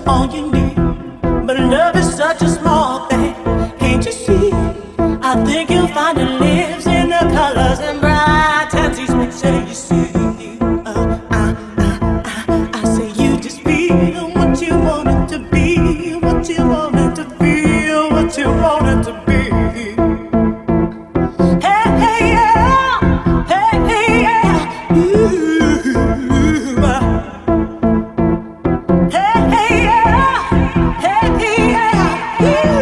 all you need. But love is such a small thing, can't you see? I think you'll find it lives in the colors and bright and teach me, say you see. I say you just feel what you want it to be, what you want it to feel, what you want it to be. Hey, hey, yeah, hey, hey, yeah, ooh, hey, hey, yeah, hey, hey, yeah, ooh.